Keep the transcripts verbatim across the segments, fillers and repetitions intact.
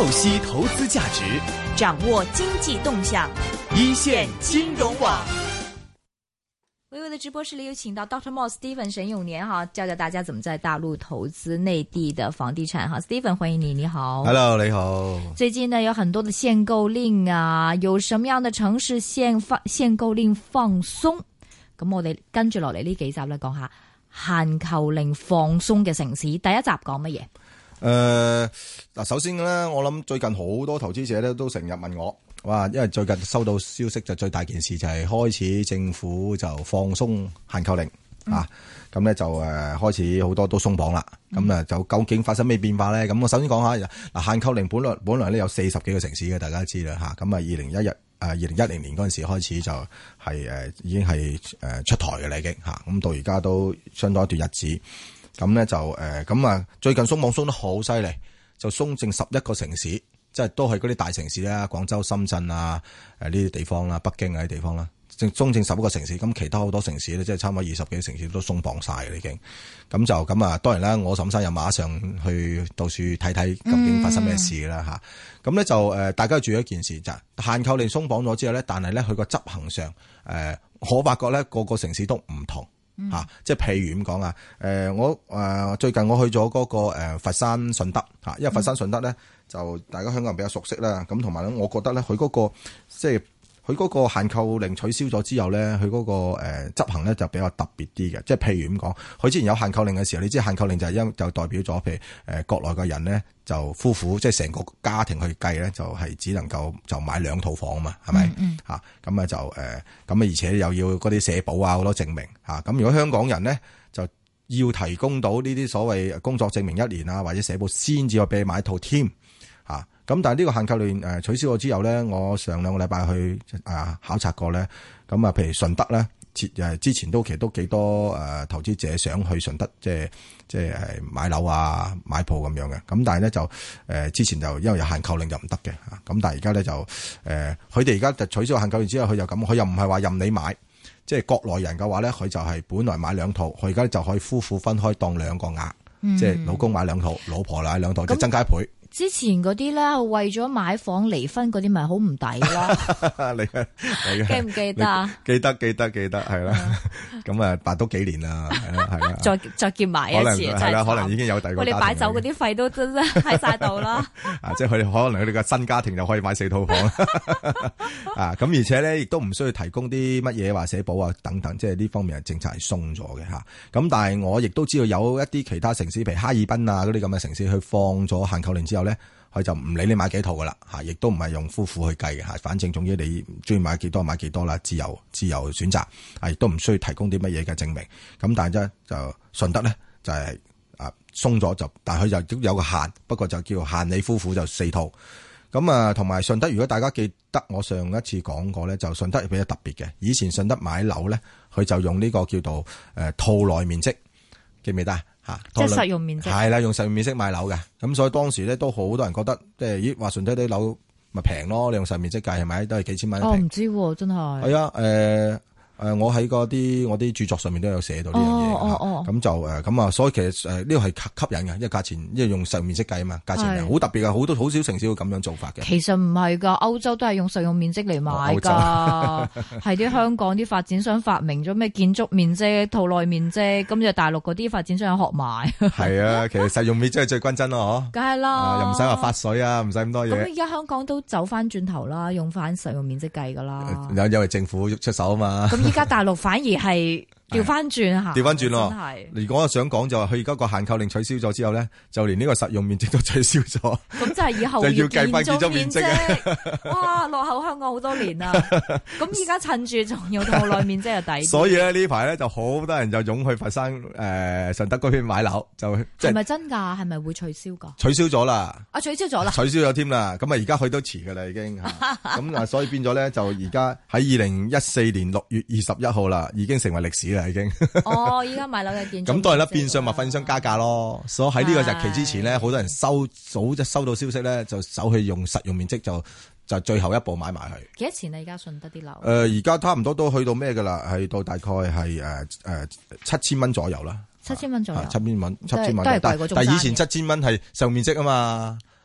透析投資價值， 掌握經濟動向， 一線金融網。 微微的直播室裏有請到 Doctor Mo Stephen 沈永年哈，教教大家怎麼在大陸投資內地的房地產哈。Stephen 歡迎你，你好。 Hello， 你好。 最近呢有很多的限購令啊，有什麼樣的城市限放限購令放鬆？咁我哋跟住落嚟呢幾集咧講下限購令放鬆嘅城市。第一集講乜嘢？ 誒，嗱、呃，首先咧，我諗最近好多投資者咧都成日問我，哇，因為最近收到消息就最大件事就係開始政府就放鬆限購令、嗯、啊，咁咧就誒、呃、開始好多都鬆綁啦，咁啊、嗯、就究竟發生咩變化咧？咁我首先講下嗱，限購令本來本來咧有四十幾個城市嘅，大家知啦吓，咁啊二零一一誒二零一零年嗰陣時開始就係、是、誒、呃、已經係誒出台嘅啦已經吓，咁到而家都相當一段日子。咁咧就誒咁啊，最近鬆綁鬆得好犀利，就鬆剩十一個城市，即係都係嗰啲大城市啦，廣州、深圳啊，誒呢啲地方啦，北京啊啲地方啦，正鬆剩十一個城市。咁其他好多城市咧，即係差唔多二十幾個城市都鬆綁晒嘅已經。咁就咁啊，當然啦，我沈生又馬上去到處睇睇究竟發生咩事啦吓。咁咧、嗯、就誒，大家注意一件事就係限購令鬆綁咗之後咧，但係咧佢個執行上誒，我發覺咧個個城市都唔同。吓、啊，即係譬如咁講啊，誒、呃，我誒、呃、最近我去咗嗰、那個誒、呃、佛山順德吓，因為佛山順德咧就大家香港人比較熟悉啦，咁同埋咧，我覺得咧佢嗰個即係佢嗰個限購令取消咗之後咧，佢嗰、那個誒、呃、執行咧就比較特別啲嘅，即係譬如咁講，佢之前有限購令嘅時候，你知限購令就係因就代表咗，譬如誒、呃、國內嘅人咧就夫婦即係成個家庭去計咧，就係、是、只能夠就買兩套房啊嘛，係咪？嗯吓，咁啊就誒咁啊，而且又要嗰啲社保啊好多證明吓，咁、啊、如果香港人咧就要提供到呢啲所謂工作證明一年啊或者社保先至可以俾你買一套添吓。啊咁但係呢個限購令誒取消咗之後咧，我上兩個禮拜去啊考察過咧，咁啊譬如順德咧，誒之前都其實都幾多誒投資者想去順德，即係即係誒買樓啊買鋪咁樣嘅。咁但係咧就誒之前就因為有限購令就唔得嘅吓，咁但係而家咧就誒佢哋而家就取消限購令之後，佢又咁，佢又唔係話任你買，即係國內人嘅話咧，佢就係本來買兩套，佢而家就可以夫婦分開當兩個額，嗯、即係老公買兩套，老婆買兩套，就增加一倍。 之前嗰啲咧，為咗買房離婚嗰啲，咪好唔抵咯？ 你你記唔記得啊？ 記得記得記得係啦，咁啊辦多幾年啦，係啦係啦， 再再結埋一次， 係啦，可能已經有第二個家庭。 我哋擺酒嗰啲費都真係喺晒度啦。 啊，即係佢哋可能佢哋嘅新家庭就可以買四套房啊，咁而且咧亦都唔需要提供啲乜嘢話社保啊等等，即係呢方面嘅政策係鬆咗嘅吓。咁但係我亦都知道有一啲其他城市，譬如哈爾濱啊嗰啲咁嘅城市，去放咗限購令之後咧，佢就唔理你買幾套噶啦，吓，亦都唔係用夫婦去計嘅吓，反正總之你中意買幾多買幾多啦，自由自由選擇，啊，亦都唔需要提供啲乜嘢嘅證明。咁但係咧就順德咧就係啊鬆咗就，但係佢就都有個限，不過就叫限你夫婦就四套。咁啊，同埋順德，如果大家記得我上一次講過咧，就順德比較特別嘅。以前順德買樓咧，佢就用呢個叫做誒套內面積，記唔記得啊？吓， 即係實用面積係啦，用實用面積買樓嘅。咁所以當時咧都好多人覺得，即係咦話順德啲樓咪平咯，你用實用面積計係咪都係幾千蚊一平？ 我唔知真係。係啊，誒。誒，我喺嗰啲我啲著作上面都有寫到呢樣嘢，咁、哦哦哦、就誒咁啊，所以其實誒呢個係吸引嘅，因為價錢，因為用實用面積計啊嘛，價錢係好特別嘅，好多好少城市會咁樣做法嘅。 其實唔係噶，歐洲都係用實用面積嚟買噶，係啲、哦、香港啲發展商發明咗咩建築面積、套內面積，咁就大陸嗰啲發展商學埋。係啊，其實實用面積係最均真咯，嗬。 梗係啦， 又唔使話發水啊，唔使咁多嘢。 咁而家香港都走翻轉頭啦，用翻實用面積計噶啦。 有因為政府出手啊嘛。 而家大陸反而係調翻轉吓， 調翻轉咯。如果我想講就係佢而家個限購令取消咗之後咧，就連呢個實用面積都取消咗。咁就係以後就要計翻建築面積啊！哇，落後香港好多年啦。咁而家趁住仲要套內面積就抵。所以咧呢排咧就好多人就湧去佛山誒順德嗰邊買樓，就係咪真㗎？係咪會取消㗎？ 取消咗啦！ 啊，取消咗啦！ 取消咗添啦！咁啊，而家去都遲㗎啦，已經咁啊，所以變咗咧就而家喺二零一四年六月二十一號啦，已經成為歷史啦，已經。 哦，依家買樓嘅建築。咁當然啦，變相咪發展商加價咯。所以喺呢個日期之前咧，好多人收早就收到消息咧，就走去用實用面積就就最後一步買埋去。 幾多錢啊？而家順德啲樓？誒、 呃，而家差唔多都去到咩㗎啦？係到大概係誒誒七千蚊左右啦。 七千蚊左右。 七千蚊，七千蚊。 都係貴嗰種。 但係以前七千蚊係實用面積啊嘛。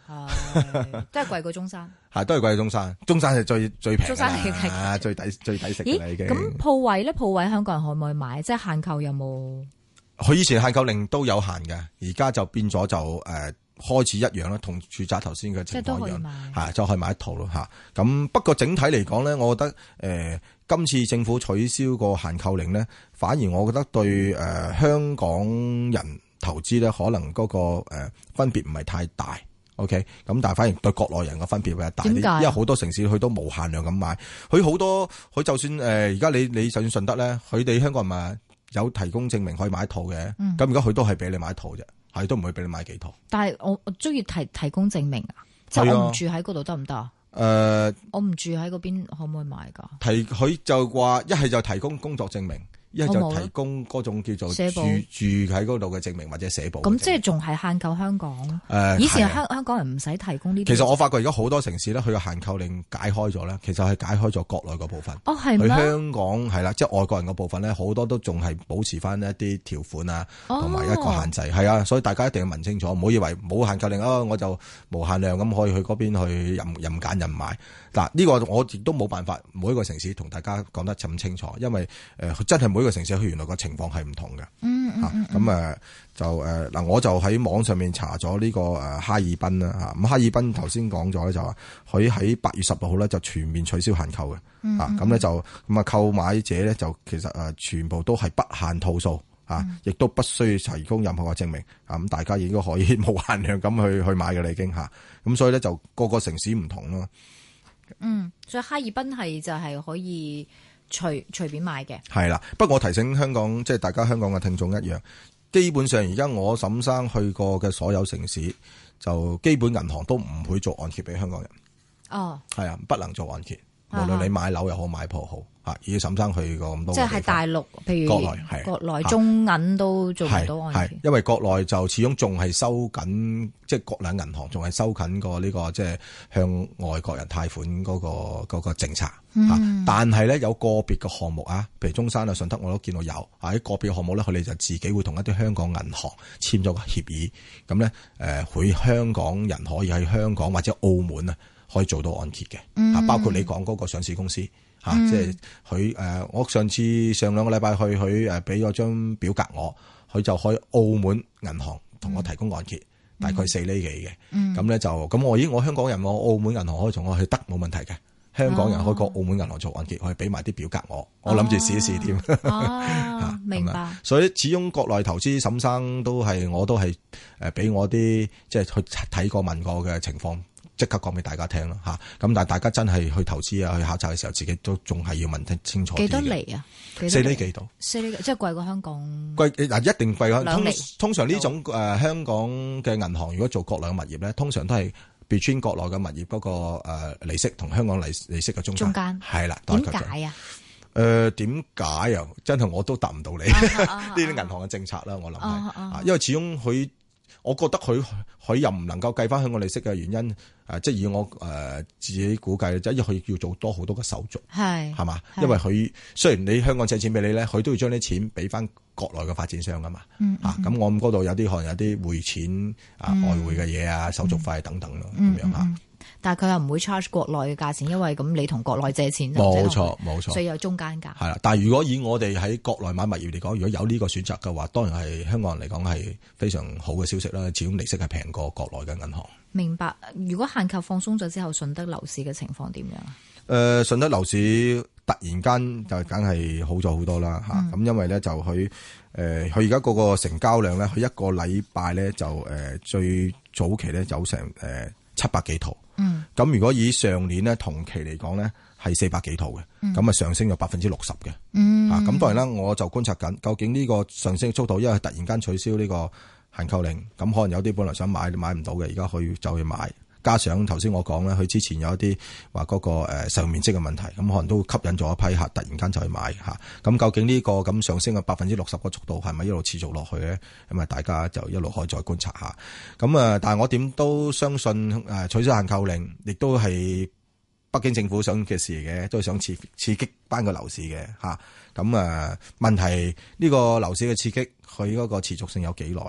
係都係貴過中山， 係都係貴過中山，中山係最最平， 中山係啊最抵最抵食嘅啦已經。 咁鋪位咧，鋪位香港人可唔可以買？即係限購有冇？ 佢以前限購令都有限嘅，而家就變咗就誒、呃、開始一樣啦，同住宅頭先嘅情況一樣，係就可以買一套咯嚇。咁不過整體嚟講咧，我覺得誒、呃、今次政府取消個限購令咧，反而我覺得對誒、呃、香港人投資咧，可能嗰、那個、呃、分別唔係太大。OK，咁但係反而對國內人嘅分別比較大啲，因為好多城市佢都無限量咁買，佢好多佢就算誒而家你你就算順德咧，佢哋香港人咪有提供證明可以買一套嘅，咁而家佢都係俾你買一套啫，係都唔會俾你買幾套。但係我我中意提提供證明啊，即係我唔住喺嗰度得唔得啊？誒、呃，我唔住喺嗰邊可唔可以買噶？提佢就話一係就提供工作證明。一係就提供嗰種叫做住住喺嗰度嘅證明或者社保。咁即係仲係限購香港。誒、呃，以前香香港人唔使提供呢啲。其實我發覺而家好多城市咧，佢嘅限購令解開咗咧，其實係解開咗國內嗰部分。哦，係咩？佢香港係啦，即係外國人嗰部分咧，好多都仲係保持翻一啲條款啊，同埋一個限制。係啊、哦，所以大家一定要問清楚，唔好以為冇限購令啊，我就無限量咁可以去嗰邊去任任揀任買。嗱，呢個我亦都冇辦法每一個城市同大家講得咁清楚，因為誒、呃、真係每一個城市佢原來個情況係唔同嘅。嗯嗯嗯。咁、啊、誒就誒嗱、呃，我就喺網上面查咗呢個誒哈爾濱啦嚇。咁哈爾濱頭先講咗咧，就話佢喺八月十六號咧就全面取消限購嘅。嗯。啊，咁咧就咁啊，購買者咧就其實誒全部都係不限套數啊，亦、嗯、都不需要提供任何嘅證明啊。咁大家應該可以無限量咁去去買嘅啦已經嚇。咁、啊、所以咧就個個城市唔同咯。 嗯，所以哈爾濱係就係可以隨隨便買嘅。係啦， 不過我提醒香港，即係大家香港嘅聽眾一樣，基本上而家我沈生去過嘅所有城市，就基本銀行都唔會做按揭俾香港人。哦，係啊，不能做按揭，無論你買樓又好買鋪好。啊！以沈生去過咁多，即係大陸，譬如國內係國內中銀都做唔到按揭，因為國內就始終仲係收緊，即係國內銀行仲係收緊個呢個即係向外國人貸款嗰個嗰個政策。嗯、但係咧有個別嘅項目啊，譬如中山啊、順德我都見到有啊，喺個別項目咧，佢哋就自己會同一啲香港銀行簽咗個協議，咁咧誒，佢香港人可以喺香港或者澳門啊，可以做到按揭嘅。嗯、啊，包括你講嗰個上市公司。啊！嗯、即係佢誒，我上次上兩個禮拜去，佢誒俾咗張表格我，佢就可以澳門銀行同我提供按揭，嗯、大概四厘幾嘅。咁咧、嗯、就咁我咦，我香港人我澳門銀行可以同我去得冇問題嘅。香港人可以過澳門銀行做按揭，可以俾埋啲表格我，我諗住試一試添。 哦，明白。 所以始終國內投資，沈生都係我都係誒俾我啲即係去睇過問過嘅情況。即刻講俾大家聽咯嚇，咁但係大家真係去投資啊，去考察嘅時候，自己都仲係要問清清楚啲嘅。幾多厘啊？四厘幾度？四厘即係貴過香港。貴嗱一定貴過。通通常呢種誒、呃、香港嘅銀行，如果做國內嘅物業咧，通常都係 between 國內嘅物業嗰個誒利息同香港利利息嘅中間。中間係啦。點解啊？誒點解啊？真係我都答唔到你。呢啲銀行嘅政策啦，我諗係啊，因為始終佢。我覺得佢佢又唔能夠計翻香港利息嘅原因，誒、呃，即係以我誒、呃、自己估計，即係因為佢要做多好多嘅手續，係係嘛？因為佢雖然你香港借錢俾你咧，佢都要將啲錢俾翻國內嘅發展商噶嘛，嗯嗯、啊，咁我諗嗰度有啲可能有啲匯錢啊、嗯、外匯嘅嘢啊、手續費等等咯，咁、嗯、樣嚇。嗯嗯但係佢又唔會 charge 國內嘅價錢，因為咁你同國內借錢，冇錯冇錯，所以有中間價。係啦，但係如果以我哋喺國內買物業嚟講，如果有呢個選擇嘅話，當然係香港人嚟講係非常好嘅消息啦。始終利息係平過國內嘅銀行。明白。如果限購放鬆咗之後，順德樓市嘅情況點樣啊？誒、呃，順德樓市突然間就梗係好咗好多啦嚇。咁、嗯、因為咧就佢誒佢而家嗰個成交量咧，佢一個禮拜咧就誒、呃、最早期咧有成誒、呃、七百幾套。嗯，咁如果以上年咧同期嚟講咧係四百幾套嘅，咁啊、嗯、上升咗百分之六十嘅，嗯、啊咁當然啦，我就觀察緊究竟呢個上升嘅速度，因為突然間取消呢個限購令，咁可能有啲本來想買買唔到嘅，而家可以走去買，加上頭先我講咧，佢之前有一啲話嗰個誒使用面積嘅問題，咁可能都吸引咗一批客突然間就去買吓，咁、啊、究竟呢個咁上升嘅百分之六十個速度係咪一路持續落去咧？咁啊大家就一路可以再觀察下。咁啊，但係我點都相信誒取消限購令，亦都係北京政府想嘅事嚟嘅，都係想刺刺激翻個樓市嘅吓。咁啊問題呢個樓市嘅刺激，佢嗰個持續性有幾耐咯？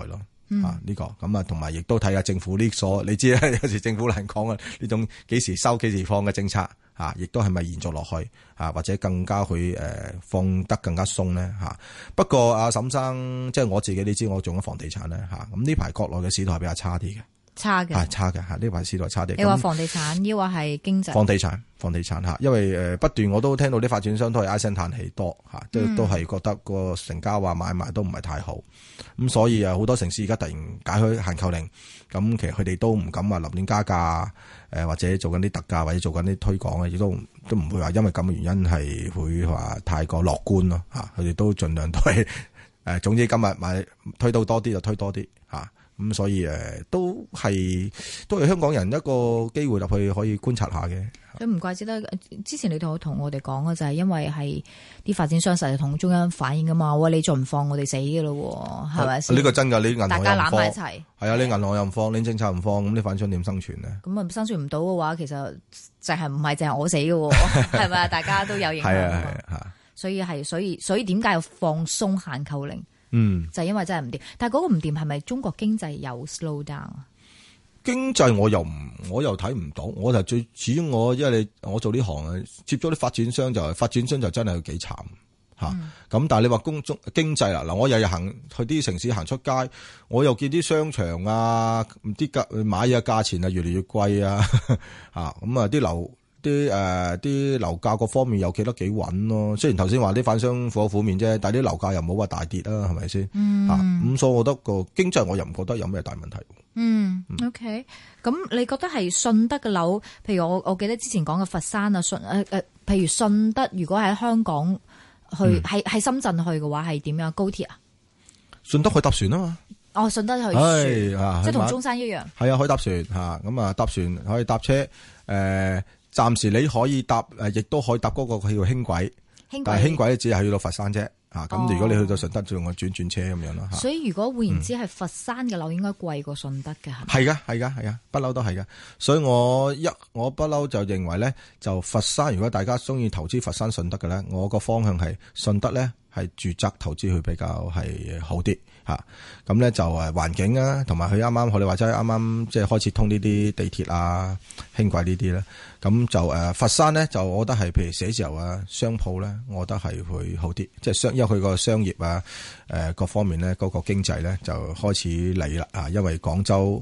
嗯、 啊呢、這個咁啊，同埋亦都睇下政府呢所，你知咧有時政府難講啊，呢種幾時收幾時放嘅政策啊，亦都係咪延續落去啊，或者更加去誒、呃、放得更加鬆咧吓。不過阿沈生，即係我自己，你知我做緊房地產咧吓，咁呢排國內嘅市道係比較差啲嘅。 差嘅， 係差嘅吓，呢排市道差啲。 你話房地產，抑或係經濟？ 房地產，房地產吓，因為誒不斷我都聽到啲發展商都係唉聲嘆氣多吓，都都係覺得個成交話買賣都唔係太好，咁所以啊好多城市而家突然解開限購令，咁其實佢哋都唔敢話立亂加價，誒或者做緊啲特價或者做緊啲推廣嘅，亦都都唔會話因為咁嘅原因係會話太過樂觀咯吓，佢哋都盡量都係誒，總之今日買推到多啲就推多啲吓。咁所以誒，都係都係香港人一個機會入去可以觀察下嘅。 咁唔怪之得，之前你同我同我哋講嘅就係因為係啲發展商實係同中央反映噶嘛，喂，你再唔放我哋死嘅咯，係咪先？呢個真噶，你銀行大家攬埋一齊，係啊，你銀行又唔放，你政策唔放，咁你發展商點生存呢？ 咁啊，生存唔到嘅話，其實就係唔係淨係我死嘅，係咪？大家都有影響。係啊係啊，所以係所以所以點解要放鬆限購令？ 嗯， 就係因為真係唔掂，但係嗰個唔掂係咪中國經濟有 slow down 啊？ 經濟我又唔，我又睇唔到，我就最主要我因為你我做呢行啊，接咗啲發展商就係發展商就真係幾慘吓。咁、嗯、但係你話公中經濟啦，嗱我日日行去啲城市行出街，我又見啲商場啊，啲價買嘢價錢啊越嚟越貴啊，吓咁啊啲樓。啲誒啲樓價各方面又企得幾穩咯，雖然頭先話啲反商苦口苦面啫，但係啲樓價又冇話大跌啦，係咪先？嗯，咁、啊、所以我覺得個經濟我又唔覺得有咩大問題。 嗯，嗯，OK，咁你覺得係順德嘅樓，譬如我我記得之前講嘅佛山啊，順誒誒，譬如順德，如果喺香港去，喺喺、嗯、深圳去嘅話，係點樣？高鐵啊？順德去搭船啊嘛。 哦，順德去船，啊、即係同中山一樣。係啊，可以搭船嚇，咁啊搭船可以搭車誒。呃暫時你可以搭誒，亦都可以搭嗰個叫輕軌，但係輕軌只係去到佛山啫。嚇、哦，咁如果你去到順德，就用個轉轉車咁樣咯。所以如果換言之，係佛山嘅樓應該貴過順德嘅，係咪？係噶，係噶，係噶，不嬲都係噶。所以我一我不嬲就認為咧，就佛山如果大家中意投資佛山順德嘅咧，我個方向係順德咧係住宅投資去比較係好啲。吓，咁咧就誒環境啊，同埋佢啱啱我哋話齋啱啱即係開始通呢啲地鐵啊、輕軌呢啲咧，咁就誒佛山咧就我覺得係譬如寫字樓啊、商鋪咧，我覺得係會好啲，即係商因為佢個商業啊誒各方面咧嗰個經濟咧就開始嚟啦啊，因為廣州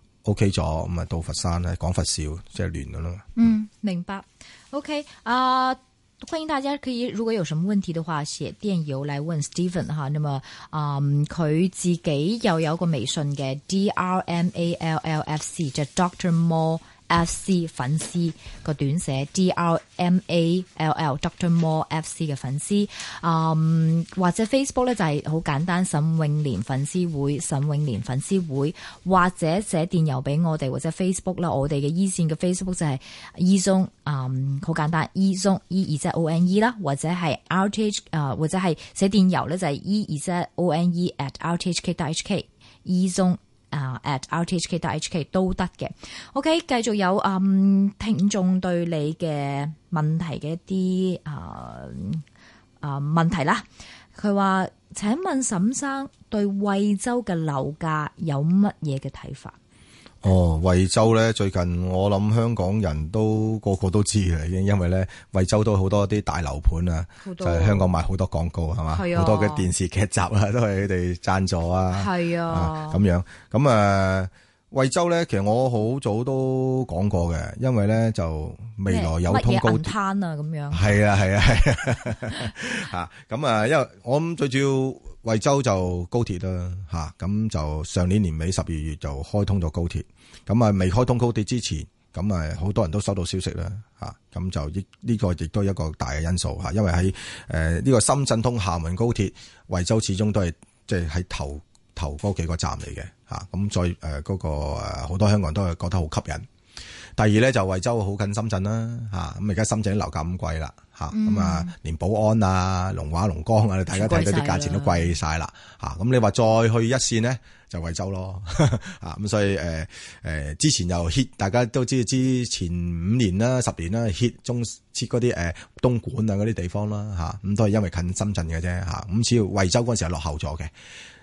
OK 咗，咁啊到佛山咧廣佛肇即係亂噶啦嘛。嗯，明白。OK 啊、uh。歡迎大家可以如果有什麼問題的話寫電郵來問 Stephen 哈，那麼嗯佢自己又有個微信嘅 D R M A L L F C 就 Doctor More F C 粉絲個短寫 D R M A L L Doctor More F C 嘅粉絲，嗯或者 Facebook 咧就係好簡單沈永年粉絲會沈永年粉絲會，或者寫電郵俾我哋或者 Facebook 啦，我哋嘅 E 線嘅 Facebook 就係 E 中嗯好簡單 E 中 E 二即係 O N E 啦，或者係 R T H 啊或者係寫電郵咧就係 E 二即係 O N E at R T H K dot H K E 中啊、uh, at R T H K dot H K 都得嘅。OK， 繼續有嗯聽眾對你嘅問題嘅一啲啊啊問題啦。佢話：請問沈生對惠州嘅樓價有乜嘢嘅睇法？哦，惠州咧最近我諗香港人都個個都知嘅，已經因為咧惠州都好多啲大樓盤啊，就係香港賣好多廣告係嘛，好、啊、多嘅電視劇集啊都係佢哋贊助啊，係啊咁樣咁啊。惠州咧，其實我好早都講過嘅，因為咧就未來有通高鐵啊咁樣，係啊係啊係啊吓咁啊，因為我諗最主要惠州就高鐵啦吓，咁就上年年尾十二月就開通咗高鐵，咁啊未開通高鐵之前，咁啊好多人都收到消息啦吓，咁就呢呢個亦都係一個大嘅因素吓，因為喺誒呢個深圳通廈門高鐵，惠州始終都係即係喺頭。頭嗰幾個站嚟嘅嚇，咁再誒嗰、呃那個誒好多香港人都係覺得好吸引。第二咧就惠州好近深圳啦嚇，咁而家深圳啲樓價咁貴啦嚇，咁、嗯、啊連寶安啊、龍華、龍江啊，大家睇到啲價錢都貴晒啦嚇。咁你話再去一線呢，就惠州咯啊，咁所以誒誒、呃、之前又 hit， 大家都知之前五年啦、十年啦 hit 中設嗰啲誒東莞啊嗰啲地方啦嚇，咁都係因為近深圳嘅啫嚇。咁只要惠州嗰陣時係落後咗嘅。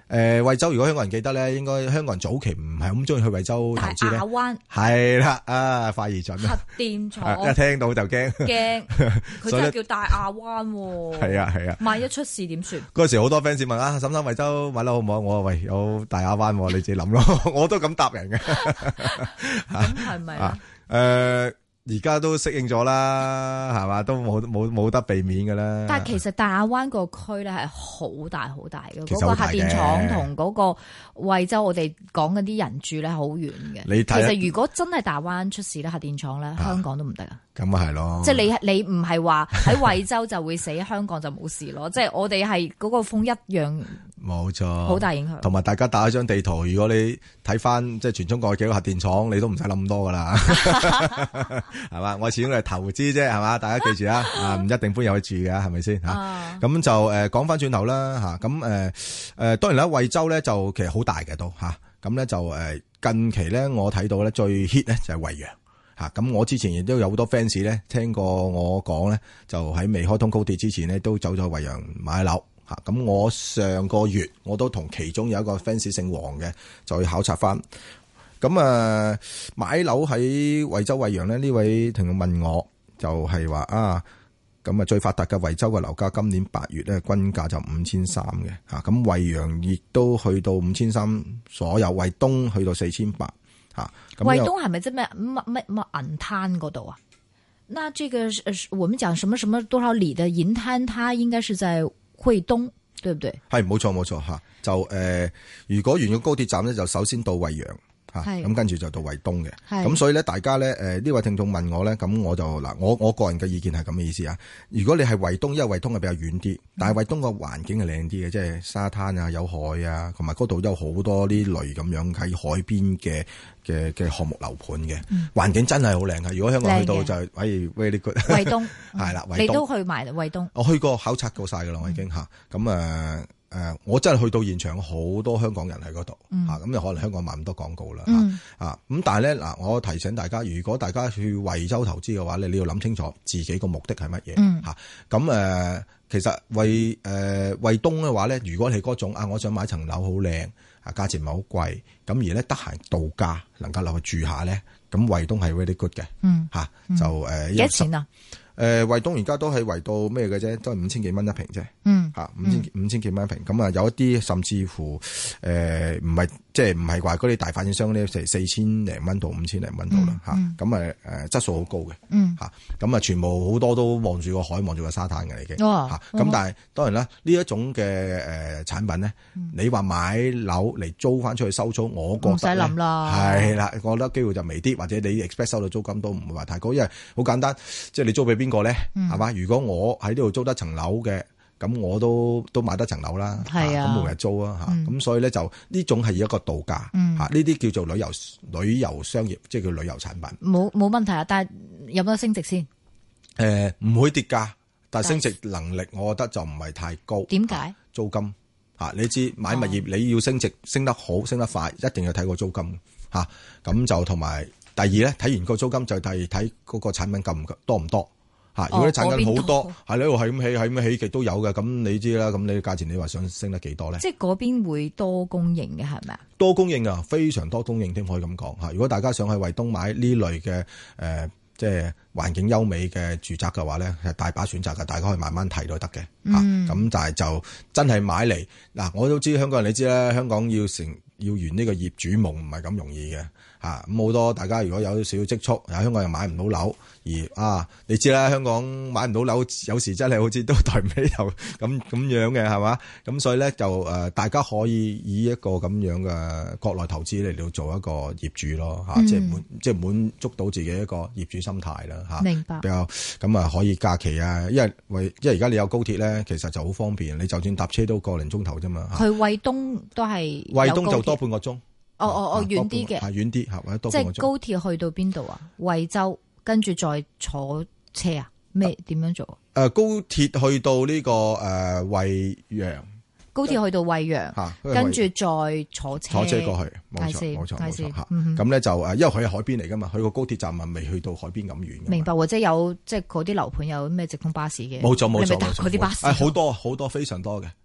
誒，惠州如果香港人記得咧，應該香港人早期唔係咁中意去惠州投資咧。 大亞灣係啦，啊，快而準核電廠， 一聽到就驚驚，佢真係叫大亞灣。 係啊係啊， 萬一出事點算？ 嗰時好多 fans 問啊，沈生惠州買樓好唔好？我話喂，有大亞灣，你自己諗咯，我都咁答人嘅。 咁係咪啊？ 誒。而家都適應咗啦，係嘛，都冇冇冇得避免㗎啦。 但係其實大亞灣個區咧係好大好大嘅，嗰個核其實好大嘅電廠同嗰個惠州我哋講嗰啲人住咧好遠嘅。 你睇下其實如果真係大灣出事咧，核電廠咧，香港都唔得啊。 咁啊係咯， 即係你你唔係話喺惠州就會死，香港就冇事咯。即係我哋係嗰個風一樣， 冇錯， 好大影響。 同埋大家打一張地圖，如果你睇翻即係全中國嘅幾個核電廠，你都唔使諗咁多噶啦，係嘛？我始終係投資啫，係嘛？大家記住啊，啊唔一定搬入去住嘅，係咪先吓？咁、啊、就誒講翻轉頭啦吓，咁誒誒當然啦，惠州咧就其實好大嘅都吓，咁、啊、咧就誒近期咧我睇到咧最 hit 咧就係惠陽。吓咁，我之前亦都有好多 fans 咧，聽過我講咧，就喺未開通高鐵之前咧，都走咗惠陽買樓吓。咁我上個月我都同其中有一個 fans 姓黃嘅，就去考察翻。咁啊，買樓喺惠州惠陽咧，呢位聽眾問我，就係話啊，咁啊最發達嘅惠州嘅樓價今年八月咧均價就五千三嘅吓，咁惠陽亦都去到五千三，所有惠東去到四千八。啊， 惠東係咪即係咩乜乜乜銀灘嗰度啊？那這個我們講什麼什麼多少里的銀灘，它應該是在惠東，對不對？ 係冇錯冇錯吓，就誒、呃，如果沿個高鐵站咧，就首先到惠陽吓，咁跟住就到惠東嘅。咁所以咧，大家咧誒呢位聽眾問我咧，咁我就嗱，我我個人嘅意見係咁嘅意思啊。如果你係惠東，因為惠東係比較遠啲，但係惠東個環境係靚啲嘅，即係沙灘啊、有海啊，同埋嗰度有好多呢類咁樣喺海邊嘅嘅嘅項目樓盤嘅，環境真係好靚嘅。如果香港去到就係，哎 very good。惠東係啦， 你都去埋惠東？ 我去過考察過晒噶啦，我已經吓。咁誒誒，我真係去到現場，好多香港人喺嗰度吓。咁又可能香港賣咁多廣告啦吓啊。咁但係咧嗱，我提醒大家，如果大家去惠州投資嘅話咧，你要諗清楚自己個目的係乜嘢吓。咁誒，其實惠誒惠東嘅話咧，如果你嗰種啊，我想買層樓好靚。啊，價錢唔係好貴，咁而咧得閒度假，能夠落去住下咧，咁惠東係 very good 嘅，嗯，吓就誒， 幾多錢啊？ 誒，惠東而家都係圍到咩嘅啫，都係五千幾蚊一平啫， 嗯， 吓五千五千幾蚊一平，咁啊有一啲甚至乎誒唔係即係唔係話嗰啲大發展商咧，成四千零蚊到五千零蚊到啦，吓咁誒誒質素好高嘅，嗯，吓咁啊全部好多都望住個海，望住個沙灘嘅已經，吓咁但係當然啦，呢一種嘅誒產品咧，你話買樓嚟租翻出去收租，我覺得唔使諗啦，係啦，我覺得機會就微啲，或者你 expect 收到租金都唔會話太高，因為好簡單，即係你租俾邊個咧，係嘛？如果我喺呢度租得層樓嘅。咁我都都買得層樓啦，係啊，咁每日租啊，吓、嗯，咁所以咧就呢種係一個度假，吓呢啲叫做旅遊旅遊商業，即係叫旅遊產品。冇冇問題啊，但係有冇得升值先？誒、 呃，唔會跌價，但係升值能力，我覺得就唔係太高。 點解？ 租金吓，你知買物業你要升值，升得好，升得快，一定要睇個租金吓。咁就同埋第二咧，睇完個租金就係睇嗰個產品夠唔夠多唔多。吓，如果啲產品好多，係呢度係咁起，係咁起極都有嘅，咁你知啦。咁你價錢你話想升得幾多咧？即係嗰邊會多供應嘅係咪啊？ 多供應啊，非常多供應添，可以咁講吓。如果大家想去惠東買呢類嘅誒、呃，即係環境優美嘅住宅嘅話咧，係大把選擇嘅，大家可以慢慢睇都得嘅吓。咁、嗯、但係就真係買嚟嗱，我都知香港人你知啦，香港要成要圓呢個業主夢唔係咁容易嘅。啊，咁好多大家如果有少少積蓄，喺香港又買唔到樓，而啊，你知啦，香港買唔到樓，有時真係好似都抬唔起頭咁咁樣嘅，係嘛？咁所以咧就誒、呃，大家可以以一個咁樣嘅國內投資嚟到做一個業主咯，吓、嗯，即係滿即係滿足到自己一個業主心態啦，吓。明白。比較咁啊，可以假期啊，因為為因為而家你有高鐵咧，其實就好方便，你就算搭車都個零鐘頭啫嘛。 去惠東都係惠東就多半個鐘。 哦哦哦，遠啲嘅， 係遠啲，係或者多即係高鐵去到邊度啊？惠州，跟住再坐車啊？咩點樣做？誒、 呃，高鐵去到呢、這個誒惠陽， 高鐵去到惠陽，吓、啊，跟住再坐車， 坐車過去，冇錯冇錯冇錯吓。咁咧就誒，因為佢係海邊嚟噶嘛，佢個高鐵站啊未去到海邊咁遠。 明白，或者有即係嗰啲樓盤有咩直通巴士嘅？ 冇錯冇錯， 嗰啲巴士， 誒好多好多非常多嘅吓。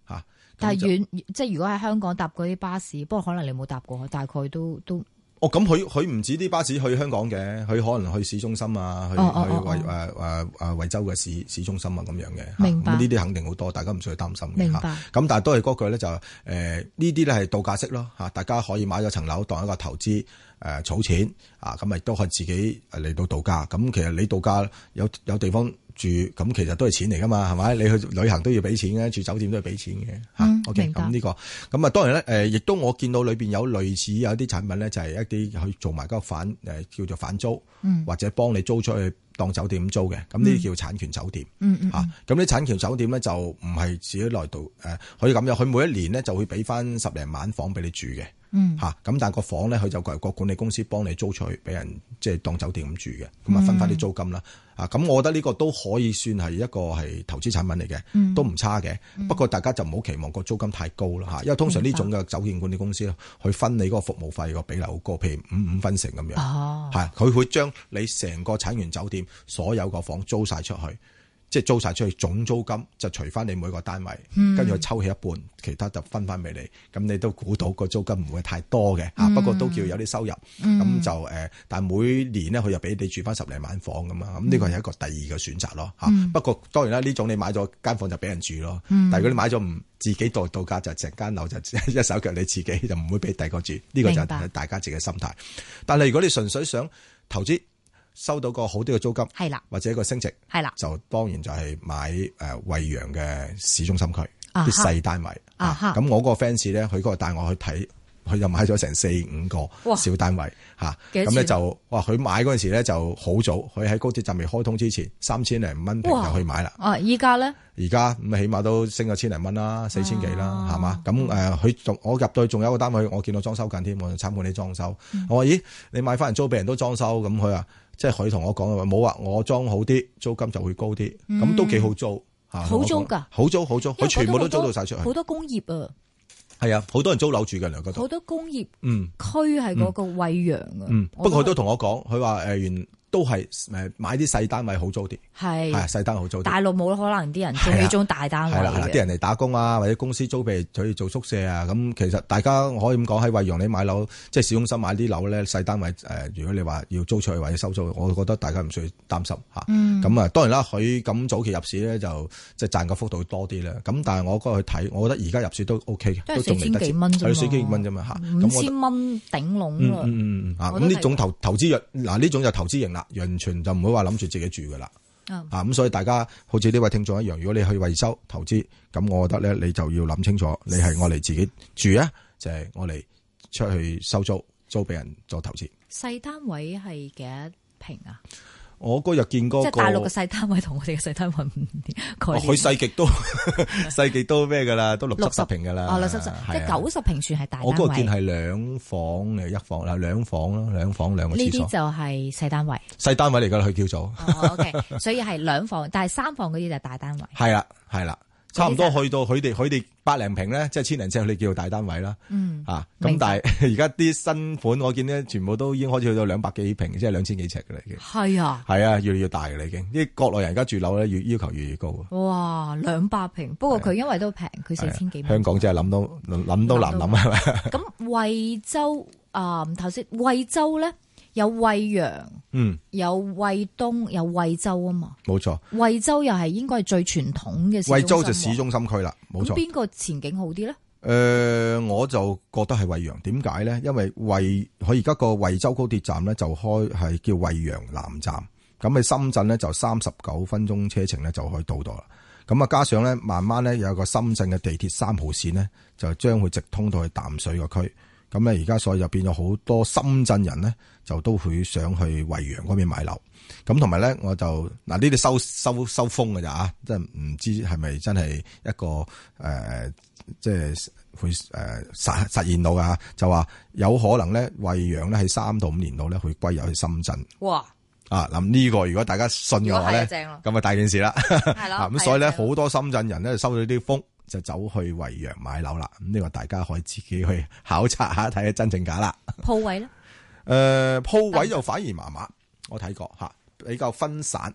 但係遠即係如果喺香港搭嗰啲巴士，不過可能你冇搭過，大概都都。 哦，咁佢佢唔止啲巴士去香港嘅，佢可能去市中心啊，去、哦哦、去惠誒誒誒惠州嘅市市中心啊咁樣嘅。明白。咁呢啲肯定好多，大家唔需要擔心嘅。 明白。 咁但係都係嗰句咧，就誒呢啲咧係度假式咯嚇，大家可以買咗層樓當一個投資誒儲錢啊，咁咪都可以自己嚟到度假。咁其實你度假有有地方住，咁其實都係錢嚟噶嘛，係咪？你去旅行都要俾錢嘅，住酒店都要俾錢嘅嚇。 嗯、 OK，咁呢、這個咁啊，當然咧誒，亦都我見到裏邊有類似有啲產品咧，就係一啲去做埋嗰個反誒叫做反租，嗯、或者幫你租出去當酒店咁租嘅，咁呢啲叫產權酒店。嗯嗯。嚇、嗯，咁啲產權酒店咧就唔係自己來到誒，可以咁樣，佢每一年咧就會俾翻十零晚房俾你住嘅。嗯，吓咁，但係個房咧，佢就個管理公司幫你租出去，俾人即係當酒店咁住嘅，咁啊分翻啲租金啦。啊，咁我覺得呢個都可以算係一個係投資產品嚟嘅，嗯、都唔差嘅。嗯、不過大家就唔好期望個租金太高啦吓，因為通常呢種嘅酒店管理公司咧，佢分你嗰個服務費個比例好高，譬如五五分成咁樣。哦，係佢會將你成個產權酒店所有個房租晒出去。即係租晒出去，總租金就除翻你每個單位，跟住佢抽起一半，其他就分翻俾你。咁你都估到個租金唔會太多嘅，嗯、不過都叫有啲收入。咁、嗯、就誒，但係每年咧佢又俾你住翻十零晚房咁啊。咁呢個係一個第二個選擇咯嚇。嗯、不過當然啦，呢種你買咗間房就俾人住咯。嗯、但係如果你買咗唔自己度度假，就成間樓就一手腳你自己，就唔會俾第二個住。呢、呢個就係大家自己嘅心態。白但係如果你純粹想投資，收到個好啲嘅租金，係啦，或者一個升值，係啦，就當然就係買誒惠陽嘅市中心區啲細單位啊。咁我個 fans 咧，佢嗰個帶我去睇，佢就買咗成四五個小單位嚇。咁咧就哇，佢買嗰陣時咧就好早，佢喺高鐵站未開通之前，三千零蚊平就去買啦。啊，依家咧？而家咁起碼都升咗千零蚊啦，四千幾啦，係嘛？咁誒，佢仲我入到去仲有一個單位，我見到裝修緊添，我就參觀啲裝修。我話咦，你買翻嚟租俾人都裝修，咁佢話。即係佢同我講話冇話我裝好啲，租金就會高啲，咁、嗯、都幾好租吓。好租噶，好租好租，佢全部都租到晒出去。好多工業啊，係啊，好多人租樓住嘅兩個度。好多工業嗯區係嗰個惠陽啊。嗯，不過佢都同我講，佢話誒原。都係誒買啲細單位好租啲，係係細單位好租啲。大陸冇可能啲人租呢種大單位嘅，係啦係啦，啲人嚟打工啊，或者公司租俾佢做宿舍啊。咁其實大家可以咁講，喺惠陽你買樓，即係市中心買啲樓咧，細單位誒，如果你話要租出去或者收租，我覺得大家唔需要擔心嚇。咁啊，當然啦，佢咁早期入市咧，就即係賺個幅度多啲啦。咁但係我嗰日去睇，我覺得而家入市都 O K 嘅，都仲未得幾蚊啫嘛，係四千幾蚊啫嘛嚇，五千蚊頂籠啦。嗯嗯嗯啊，咁呢種投投資嗱呢種就投資型啦。完全就唔會話諗住自己住噶啦，嗯、啊咁所以大家好似呢位聽眾一樣，如果你去維修投資，咁我覺得咧你就要諗清楚，你係我嚟自己住啊，就係我嚟出去收租租俾人做投資。細單位係幾多平啊？我嗰日見過，即係大陸嘅細單位同我哋嘅細單位唔同。佢細極都細極都咩噶啦，都六七十平噶啦。哦，六七十，即係九十平算係大單位。我嗰日見係兩房誒一房啦，兩房咯，兩房兩個廁所。呢啲就係細單位。細單位嚟噶啦，佢叫做。哦，OK，所以係兩房，但係三房嗰啲就係大單位。係啦，係啦。差唔多去到佢哋佢哋百零平咧，即係千零尺，佢哋叫做大單位啦。嗯，啊，咁但係而家啲新款我見咧，全部都已經開始去到兩百幾平，即係兩千幾尺嘅啦，已經。係啊，係啊，越嚟越大嘅啦，已經。啲國內人而家住樓咧，越要求越嚟越高。哇，兩百平，不過佢因為都平，佢四千幾。香港真係諗到諗都難諗係咪？咁惠州啊，頭先惠州咧。有惠陽，嗯，有惠東，有惠州啊嘛，冇錯。惠州又係應該係最傳統嘅市中心。惠州就市中心區啦，冇錯。邊個前景好啲咧？誒、呃，我就覺得係惠陽。點解咧？因為惠佢而家個惠州高鐵站咧就開係叫惠陽南站，咁喺深圳咧就三十九分鐘車程咧就可以到到啦。咁啊，加上咧慢慢咧有個深圳嘅地鐵三號線咧，就將會直通到去淡水個區。咁咧，而家所以就變咗好多深圳人咧，就都會想去惠陽嗰邊買樓。咁同埋咧，我就嗱呢啲收收收風㗎咋啊！即係唔知係咪真係一個誒、呃，即係會誒實實現到㗎。就話有可能咧，惠陽咧喺三到五年度咧，會歸入去深圳。哇！啊，咁呢個如果大家信嘅話咧，咁啊大件事啦。係咯。咁所以咧，好多深圳人咧收到啲風。就走去惠陽買樓啦，咁呢個大家可以自己去考察下，睇下真正假啦。鋪位咧？誒、呃，鋪位就反而麻麻，我睇過吓，比較分散，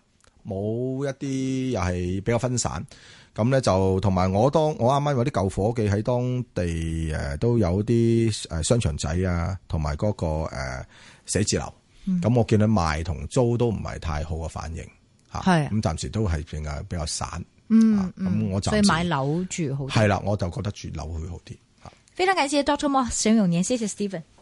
冇一啲又係比較分散。咁咧就同埋我當我啱啱有啲舊伙計喺當地誒都有啲誒商場仔啊，同埋嗰個誒寫字樓。咁、嗯、我見到賣同租都唔係太好嘅反應嚇。係咁暫時都係比較比較散。嗯咁、啊、我就所以買樓住好啲。 係啦，我就覺得住樓會好啲。 非常感謝 Doctor Mo 沈永年，謝謝 Stephen。